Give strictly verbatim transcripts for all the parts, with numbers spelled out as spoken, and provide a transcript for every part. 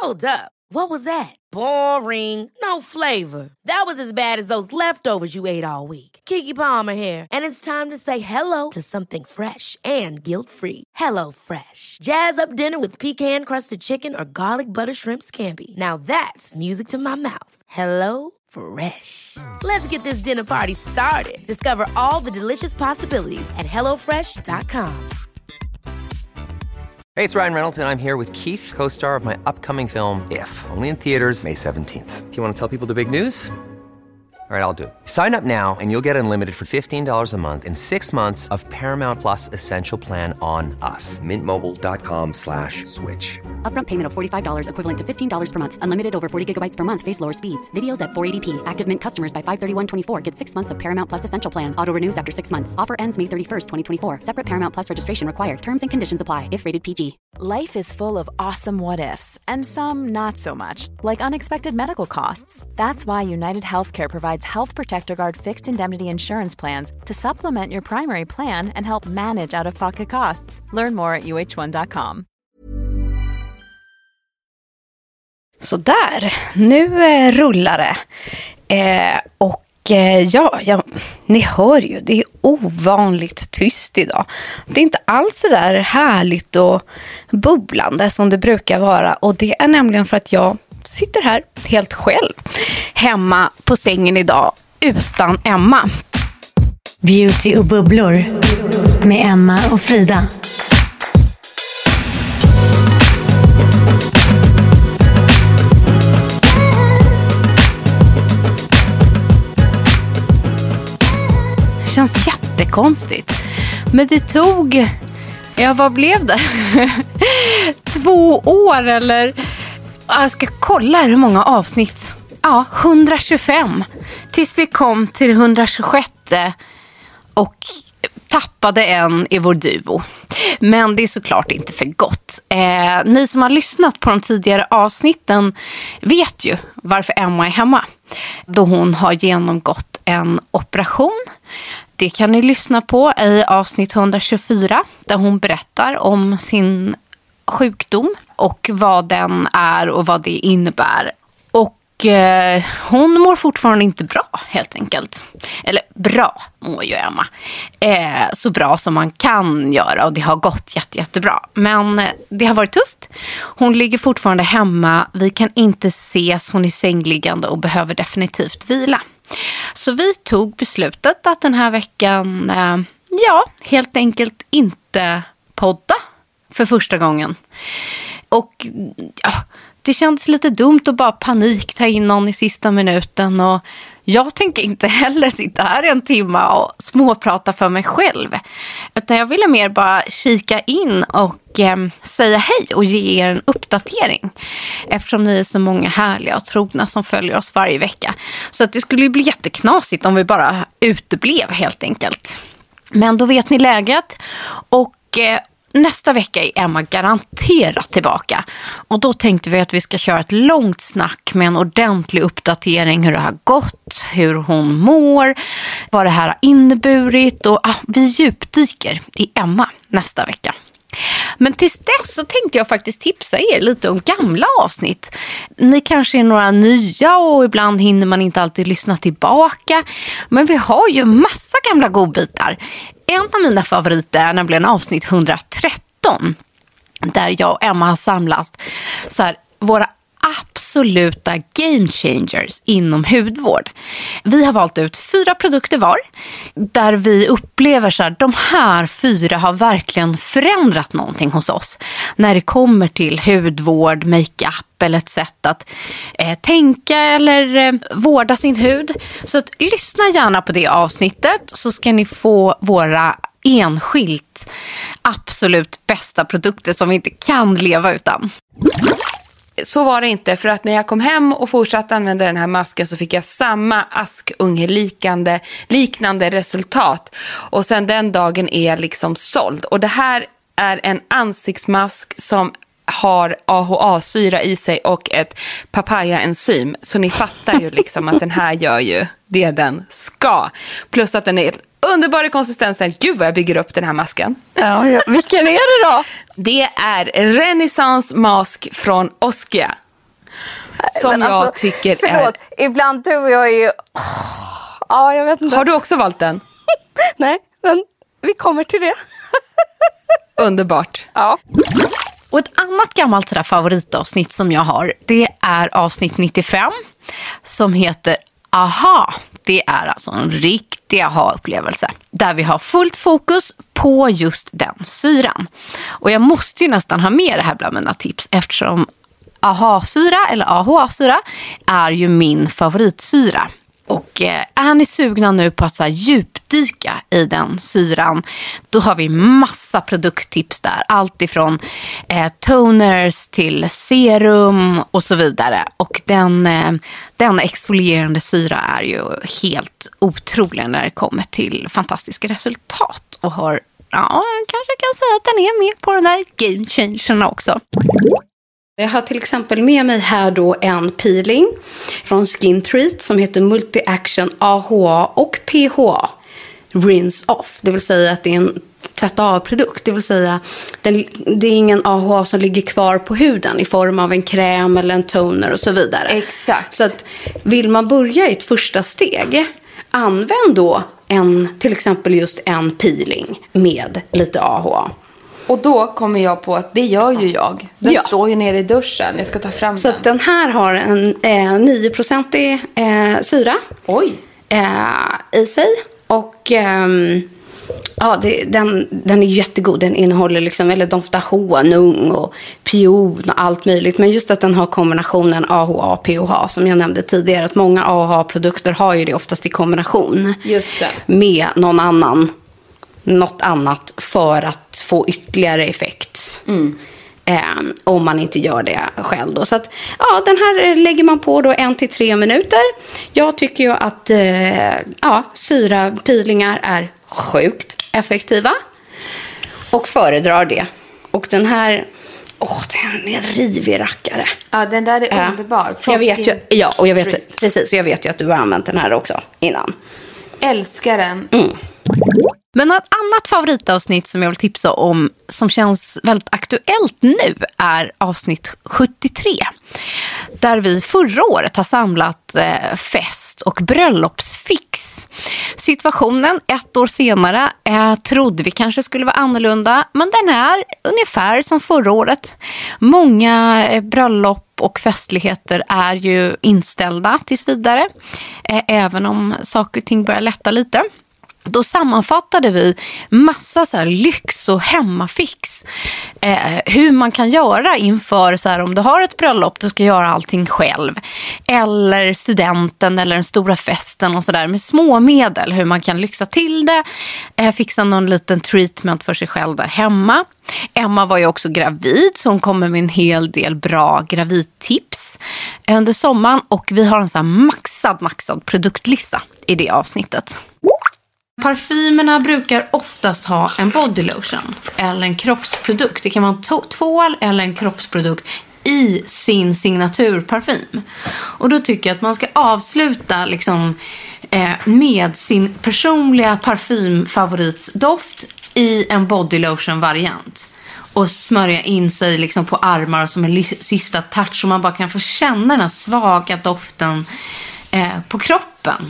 Hold up. What was that? Boring. No flavor. That was as bad as those leftovers you ate all week. Keke Palmer here, and it's time to say hello to something fresh and guilt-free. Hello Fresh. Jazz up dinner with pecan-crusted chicken or garlic butter shrimp scampi. Now that's music to my mouth. Hello Fresh. Let's get this dinner party started. Discover all the delicious possibilities at hello fresh dot com. Hey, it's Ryan Reynolds, and I'm here with Keith, co-star of my upcoming film, If, only in theaters May seventeenth. Do you want to tell people the big news? All right, I'll do it. Sign up now and you'll get unlimited for fifteen dollars a month and six months of Paramount Plus Essential Plan on us. Mint Mobile dot com slash switch. Upfront payment of forty-five dollars equivalent to fifteen dollars per month. Unlimited over forty gigabytes per month. Face lower speeds. Videos at four eighty p. Active Mint customers by five thirty-one twenty-four get six months of Paramount Plus Essential Plan. Auto renews after six months. Offer ends May thirty-first, twenty twenty-four. Separate Paramount Plus registration required. Terms and conditions apply if rated P G. Life is full of awesome what-ifs and some not so much, like unexpected medical costs. That's why United Healthcare provides Health Protector Guard fixed indemnity insurance plans to supplement your primary plan and help manage out-of-pocket costs. Learn more at u h one dot com. Så där, nu eh, rullar det. Eh, och eh, ja, ja, ni hör ju, det är ovanligt tyst idag. Det är inte alls så där härligt och bubblande som det brukar vara. Och det är nämligen för att jag sitter här helt själv hemma på sängen idag utan Emma. Beauty och bubblor med Emma och Frida. Känns jättekonstigt. Men det tog, ja vad blev det? Två år eller, jag ska kolla hur många avsnitt. Ja, hundratjugofem. Tills vi kom till hundratjugosex och tappade en i vår duo. Men det är såklart inte för gott. Eh, ni som har lyssnat på de tidigare avsnitten vet ju varför Emma är hemma. Då hon har genomgått en operation. Det kan ni lyssna på i avsnitt hundratjugofyra där hon berättar om sin sjukdom och vad den är och vad det innebär. Och eh, hon mår fortfarande inte bra helt enkelt. Eller bra mår ju Emma. Eh, så bra som man kan göra och det har gått jätte, jättebra. Men eh, det har varit tufft. Hon ligger fortfarande hemma. Vi kan inte ses. Hon är sängliggande och behöver definitivt vila. Så vi tog beslutet att den här veckan, eh, ja, helt enkelt inte podda för första gången. Och ja, det kändes lite dumt att bara panik ta in någon i sista minuten. Och jag tänker inte heller sitta här en timme och småprata för mig själv. Utan jag ville mer bara kika in och eh, säga hej och ge er en uppdatering. Eftersom ni är så många härliga och trogna som följer oss varje vecka. Så att det skulle ju bli jätteknasigt om vi bara uteblev helt enkelt. Men då vet ni läget. Och eh, nästa vecka är Emma garanterat tillbaka. Och då tänkte vi att vi ska köra ett långt snack med en ordentlig uppdatering hur det har gått, hur hon mår, vad det här har inneburit. Och ah, vi djupdyker i Emma nästa vecka. Men tills dess så tänkte jag faktiskt tipsa er lite om gamla avsnitt. Ni kanske är några nya och ibland hinner man inte alltid lyssna tillbaka. Men vi har ju massa gamla godbitar. En av mina favoriter är nämligen avsnitt hundratretton. Där jag och Emma har samlat så här, våra absoluta game changers inom hudvård. Vi har valt ut fyra produkter var. Där vi upplever så här, de här fyra har verkligen förändrat någonting hos oss. När det kommer till hudvård, makeup eller ett sätt att eh, tänka eller eh, vårda sin hud. Så att, lyssna gärna på det avsnittet så ska ni få våra enskilt absolut bästa produkter som vi inte kan leva utan. Så var det inte, för att när jag kom hem och fortsatte använda den här masken så fick jag samma askungeliknande liknande resultat. Och sen den dagen är jag liksom såld. Och det här är en ansiktsmask som har A H A-syra i sig och ett papaya-enzym. Så ni fattar ju liksom att den här gör ju det den ska. Plus att den är ett underbar i konsistensen. Gud vad jag bygger upp den här masken. Ja, ja. Vilken är det då? Det är Renaissance Mask från Oskia. som Men jag alltså, tycker förlåt, är... ibland du och jag är ju... Ja, jag vet inte. Har du också valt den? Nej, men vi kommer till det. Underbart. Ja. Och ett annat gammalt sådär favoritavsnitt som jag har, det är avsnitt nittiofem som heter Aha. Det är alltså en riktig aha-upplevelse där vi har fullt fokus på just den syran. Och jag måste ju nästan ha med det här bland mina tips eftersom aha-syra eller A H A-syra är ju min favoritsyra. Och eh, är ni sugna nu på att så här, djupdyka i den syran, då har vi massa produkttips där. Allt ifrån eh, toners till serum och så vidare. Och den, eh, den exfolierande syra är ju helt otrolig när det kommer till fantastiska resultat. Och har, ja, kanske kan säga att den är med på den där game changerna också. Jag har till exempel med mig här då en peeling från Skin Treat som heter Multi Action A H A och P H A Rinse Off. Det vill säga att det är en tvätta av-produkt. Det vill säga den, det är ingen A H A som ligger kvar på huden i form av en kräm eller en toner och så vidare. Exakt. Så att vill man börja i ett första steg, använd då en, till exempel just en peeling med lite A H A. Och då kommer jag på att det gör ju jag. Den Ja. står ju nere i duschen. Jag ska ta fram Så den. att den här har en eh, nio procent eh, syra. Oj. Eh, i sig. Och ehm, ja, det, den, den är jättegod. Den innehåller liksom, eller doftar honung och pion och allt möjligt. Men just att den har kombinationen A H A och P H A som jag nämnde tidigare. Att många A H A-produkter har ju det oftast i kombination. Just det. Med någon annan, något annat för att få ytterligare effekt. Mm. Eh, om man inte gör det själv då. Så att, ja, den här lägger man på då en till tre minuter. Jag tycker ju att eh, ja, syrapeelingar är sjukt effektiva. Och föredrar det. Och den här, åh, den är en rivig rackare. Ja, den där är Eh, underbar. jag vet ju, ja, och jag vet Treat. precis, och jag vet ju att du har använt den här också innan. Älskar den. Mm. Men ett annat favoritavsnitt som jag vill tipsa om som känns väldigt aktuellt nu är avsnitt sjuttiotre. Där vi förra året har samlat eh, fest- och bröllopsfix. Situationen ett år senare eh, trodde vi kanske skulle vara annorlunda, men den är ungefär som förra året. Många eh, bröllop och festligheter är ju inställda tills vidare, eh, även om saker och ting börjar lätta lite. Då sammanfattade vi massa så här lyx och hemmafix. Eh, hur man kan göra inför så här, om du har ett bröllop, du ska göra allting själv. Eller studenten eller den stora festen och sådär med små medel. Hur man kan lyxa till det. Eh, fixa någon liten treatment för sig själv där hemma. Emma var ju också gravid så hon kommer med en hel del bra gravidtips under sommaren. Och vi har en så här maxad, maxad produktlista i det avsnittet. Parfymerna brukar oftast ha en body lotion eller en kroppsprodukt. Det kan vara en to- tvål eller en kroppsprodukt i sin signaturparfym. Och då tycker jag att man ska avsluta liksom, eh, med sin personliga parfymfavoritsdoft i en body lotion-variant. Och smörja in sig liksom på armar som en li- sista touch så man bara kan få känna den här svaga doften eh, på kroppen.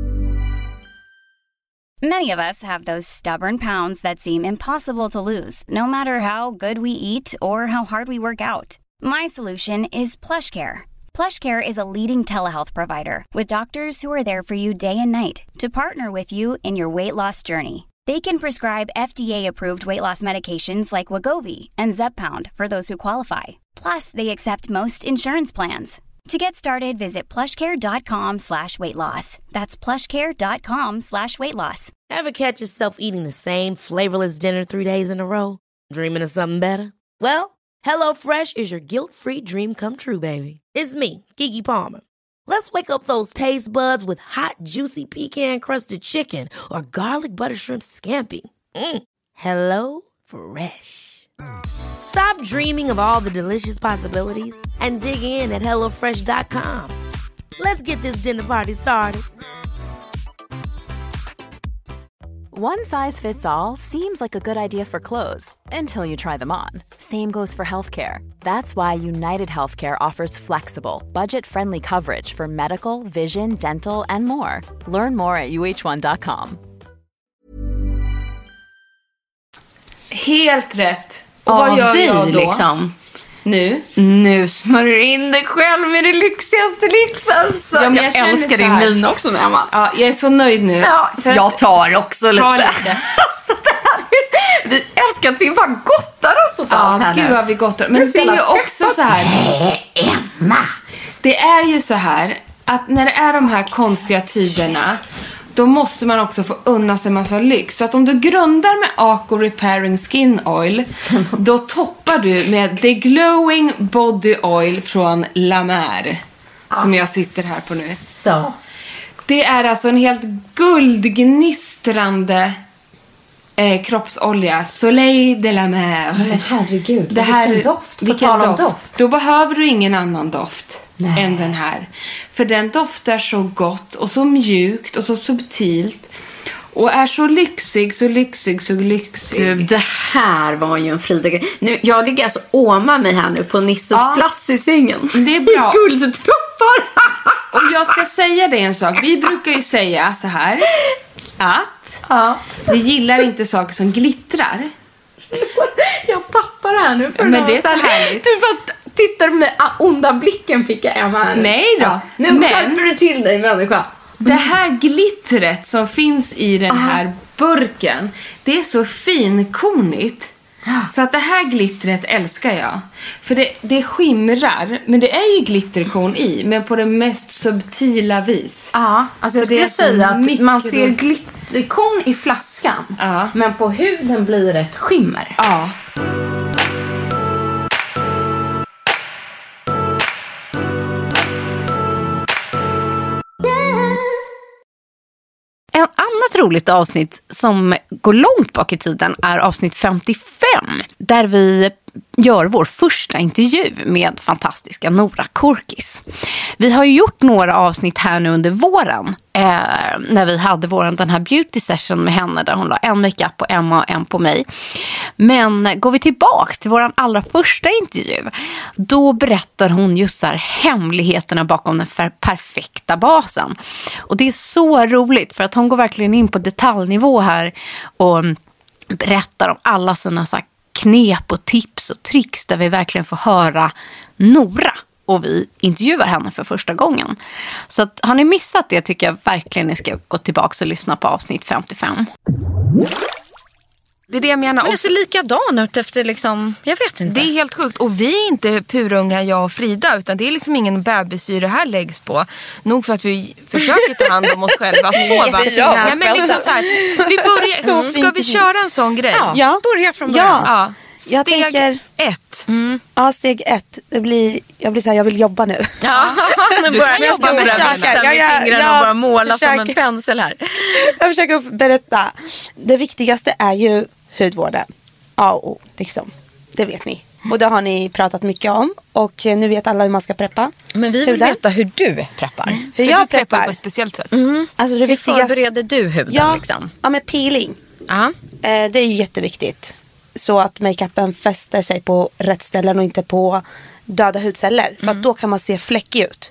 Many of us have those stubborn pounds that seem impossible to lose, no matter how good we eat or how hard we work out. My solution is PlushCare. PlushCare is a leading telehealth provider with doctors who are there for you day and night to partner with you in your weight loss journey. They can prescribe F D A-approved weight loss medications like Wegovy and Zepbound for those who qualify. Plus, they accept most insurance plans. To get started, visit plushcare.com slash weight loss. That's plushcare.com slash weight loss. Ever catch yourself eating the same flavorless dinner three days in a row? Dreaming of something better? Well, HelloFresh is your guilt-free dream come true, baby. It's me, Keke Palmer. Let's wake up those taste buds with hot, juicy pecan-crusted chicken or garlic butter shrimp scampi. Mm. Hello Fresh. Stop dreaming of all the delicious possibilities and dig in at hello fresh dot com. Let's get this dinner party started. One size fits all seems like a good idea for clothes until you try them on. Same goes for healthcare. That's why United Healthcare offers flexible, budget-friendly coverage for medical, vision, dental, and more. Learn more at u h one dot com. Helt rätt. Och vad gör jag då? Liksom. Nu? Nu smörjer in dig själv med det lyxigaste lyx. Alltså. Ja, jag, jag jag älskar din min också, Emma. Ja, jag är så nöjd nu. Ja, för jag tar också lite. Ta lite. Alltså, det här är, vi älskar att vi bara gottar oss åt ja, allt här. Gud vad vi gottar. Men det är ju också så här. Emma. Det är ju så här att när det är de här konstiga tiderna, då måste man också få unna sig en massa lyx. Så att om du grundar med Aco Repairing Skin Oil, då toppar du med The Glowing Body Oil från La Mer, som jag sitter här på nu. Så. Det är alltså en helt guldgnistrande eh, kroppsolja. Soleil de la Mer. Men herregud, det här, vilken doft. På vilken tal om doft. doft. Då behöver du ingen annan doft. Nej. Än den här. För den doftar så gott och så mjukt och så subtilt. Och är så lyxig, så lyxig, så lyxig. Du, det här var ju en frida. Nu, jag ligger alltså åma mig här nu på Nisses ja. plats i sängen. Det är bra. Guldtroppar. Och jag ska säga dig en sak. Vi brukar ju säga så här. Att ja. vi gillar inte saker som glittrar. Jag tappar det här nu. För men det är så härligt. Du bara tittar med onda blicken fick jag Emma här. Nej då. Ja. Nu men skärper du till dig, människa. Det här glittret som finns i den här burken, det är så finkornigt. Så att det här glittret älskar jag. För det, det skimrar, men det är ju glitterkorn i, men på det mest subtila vis. Ja, alltså jag skulle säga att mikro... man ser glitterkorn i flaskan, ja. Men på huden blir det ett skimmer. Ja. En annat roligt avsnitt som går långt bak i tiden är avsnitt femtiofem, där vi gör vår första intervju med fantastiska Nora Korkis. Vi har ju gjort några avsnitt här nu under våren eh, när vi hade våran, den här beauty session med henne där hon la en makeup på Emma och en på mig. Men går vi tillbaka till våran allra första intervju, då berättar hon just så här hemligheterna bakom den perfekta basen. Och det är så roligt för att hon går verkligen in på detaljnivå här och berättar om alla sina så här knep och tips och tricks där vi verkligen får höra Nora och vi intervjuar henne för första gången. Så att, har ni missat det tycker jag verkligen ni ska gå tillbaka och lyssna på avsnitt femtiofem. Det är det jag menar. Men det ser likadan ut efter liksom, jag vet inte. Det är helt sjukt. Och vi är inte purunga, jag och Frida, utan det är liksom ingen bebissyre här läggs på. Nog för att vi försöker ta hand om oss själva. Så, va? Ja, men liksom så här, vi börjar, ska vi köra en sån grej? Ja, Ja, börja från början. Ja. Ja. Jag Steg tänker- ett. Mm. Ja, steg ett. Det blir, jag blir så här, jag vill jobba nu. Ja, nu börjar jag jobba stora med vifta försöka. med Ja, ja, fingrarna ja, och bara måla som en försöker. pensel här. Jag försöker berätta. Det viktigaste är ju hudvården. A och O, liksom. Det vet ni. Och det har ni pratat mycket om. Och nu vet alla hur man ska preppa. Men vi vill huden. veta hur du preppar. Hur För jag du preppar preppar. på ett speciellt sätt. Alltså det Hur viktigaste. förbereder du huden Ja, liksom? ja, med peeling. Ja. Eh, det är ju jätteviktigt. Så att makeupen fäster sig på rätt ställen och inte på döda hudceller. För att då kan man se fläckig ut.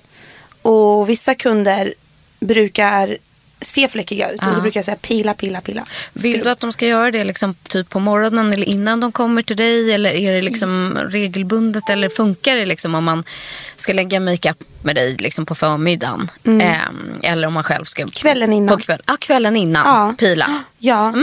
Och vissa kunder brukar se fläckiga ut. Och då brukar jag säga pila, pila, pila. Vill du att de ska göra det liksom typ på morgonen eller innan de kommer till dig? Eller är det liksom regelbundet? Eller funkar det liksom om man ska lägga makeup med dig liksom på förmiddagen? Eh, eller om man själv ska... Kvällen innan. På kväll, ah, kvällen innan. Ja. Pila. Ja.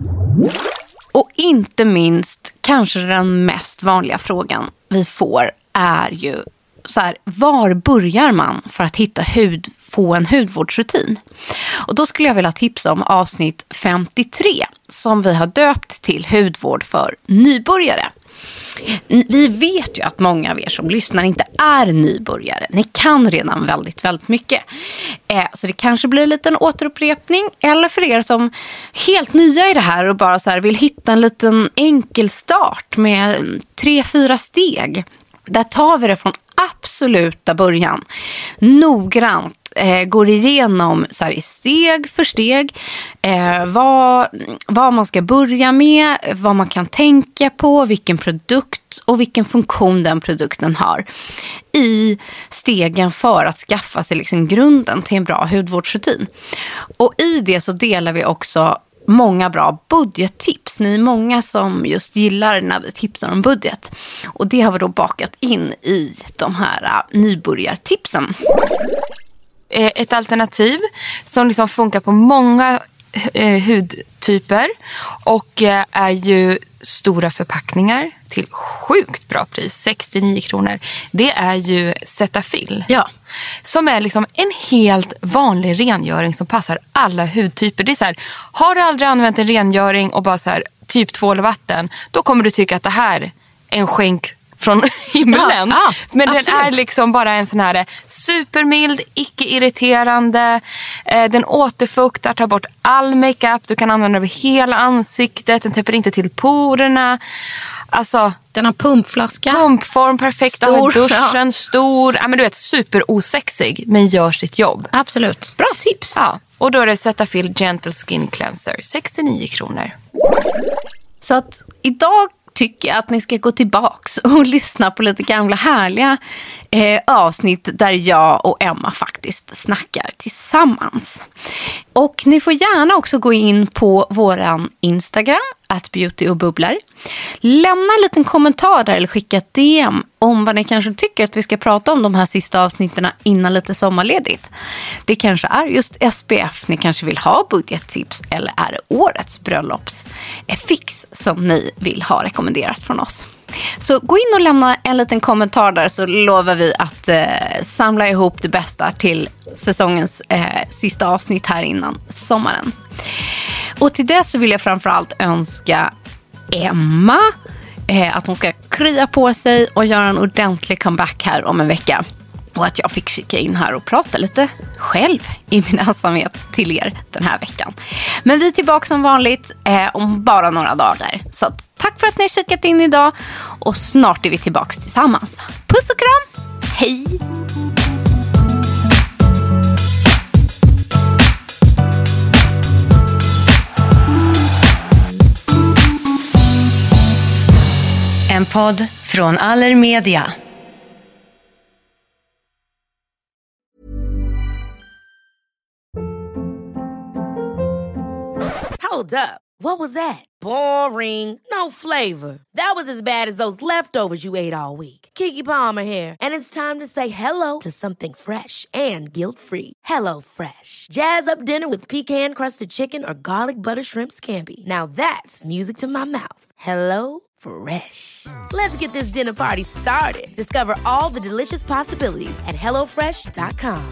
Och inte minst, kanske den mest vanliga frågan vi får är ju så här, var börjar man för att hitta hud, få en hudvårdsrutin? Och då skulle jag vilja tipsa om avsnitt femtiotre som vi har döpt till hudvård för nybörjare. Vi vet ju att många av er som lyssnar inte är nybörjare. Ni kan redan väldigt, väldigt mycket. Eh, så det kanske blir en liten återupprepning. Eller för er som helt nya i det här och bara så här vill hitta en liten enkel start med tre, fyra steg. Där tar vi det från absoluta början. Noggrant eh, går igenom så här, i steg för steg eh, vad, vad man ska börja med, vad man kan tänka på, vilken produkt och vilken funktion den produkten har i stegen för att skaffa sig liksom grunden till en bra hudvårdsrutin. Och i det så delar vi också många bra budgettips. Ni är många som just gillar när vi tipsar om budget. Och det har vi då bakat in i de här uh, nybörjartipsen. Ett alternativ som liksom funkar på många eh, hudtyper och eh, är ju stora förpackningar till sjukt bra pris, sextionio kronor. Det är ju Cetaphil. Ja. Som är liksom en helt vanlig rengöring som passar alla hudtyper. Det är så här, har du aldrig använt en rengöring och bara så här, typ tvål och vatten, då kommer du tycka att det här är en skänk från himlen. Ja, ja, men absolut. Den är liksom bara en sån här supermild, icke-irriterande. Eh, den återfuktar, tar bort all makeup. Du kan använda över hela ansiktet. Den täpper inte till porerna. Alltså, den har pumpflaska. Pumpform, perfekt. Stor, duschen, ja. stor. Ja, men du vet, superosexig, men gör sitt jobb. Absolut. Bra tips. Ja, och då är det Cetaphil Gentle Skin Cleanser. sextionio kronor. Så att idag tycker jag att ni ska gå tillbaks och lyssna på lite gamla härliga eh, avsnitt där jag och Emma faktiskt snackar tillsammans. Och ni får gärna också gå in på våran Instagram, at beauty och bubblar. Lämna en liten kommentar där eller skicka ett D M om vad ni kanske tycker att vi ska prata om de här sista avsnitten innan lite sommarledigt. Det kanske är just S P F ni kanske vill ha budgettips, eller är det årets bröllopsfix som ni vill ha rekommenderat från oss. Så gå in och lämna en liten kommentar där, så lovar vi att eh, samla ihop det bästa till säsongens eh, sista avsnitt här innan sommaren. Och till det så vill jag framförallt önska Emma eh, att hon ska krya på sig och göra en ordentlig comeback här om en vecka. Och att jag fick kika in här och prata lite själv i min ensamhet till er den här veckan. Men vi är tillbaka som vanligt eh, om bara några dagar. Så att, tack för att ni har kikat in idag. Och snart är vi tillbaka tillsammans. Puss och kram! Hej! En podd från Allermedia. Hold up. What was that? Boring. No flavor. That was as bad as those leftovers you ate all week. Keke Palmer here, and it's time to say hello to something fresh and guilt-free. Hello Fresh. Jazz up dinner with pecan-crusted chicken or garlic butter shrimp scampi. Now that's music to my mouth. Hello Fresh. Let's get this dinner party started. Discover all the delicious possibilities at hello fresh dot com.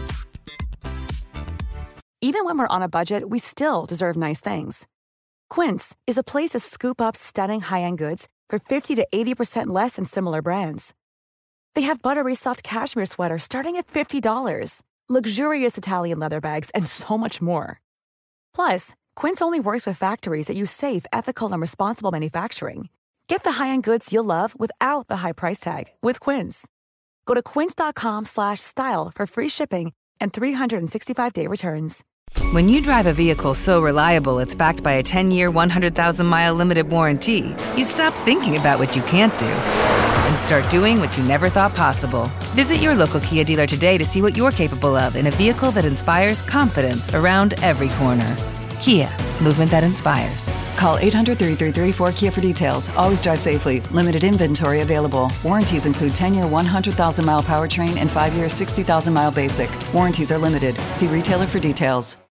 Even when we're on a budget, we still deserve nice things. Quince is a place to scoop up stunning high-end goods for fifty to eighty percent less than similar brands. They have buttery soft cashmere sweaters starting at fifty dollars, luxurious Italian leather bags, and so much more. Plus, Quince only works with factories that use safe, ethical, and responsible manufacturing. Get the high-end goods you'll love without the high price tag with Quince. Go to quince.com slash style for free shipping and three sixty-five day returns. When you drive a vehicle so reliable it's backed by a ten-year, one hundred thousand mile limited warranty, you stop thinking about what you can't do and start doing what you never thought possible. Visit your local Kia dealer today to see what you're capable of in a vehicle that inspires confidence around every corner. Kia, movement that inspires. Call eight hundred, three three three, four K I A for details. Always drive safely. Limited inventory available. Warranties include ten-year, one hundred thousand mile powertrain and five-year, sixty thousand mile basic. Warranties are limited. See retailer for details.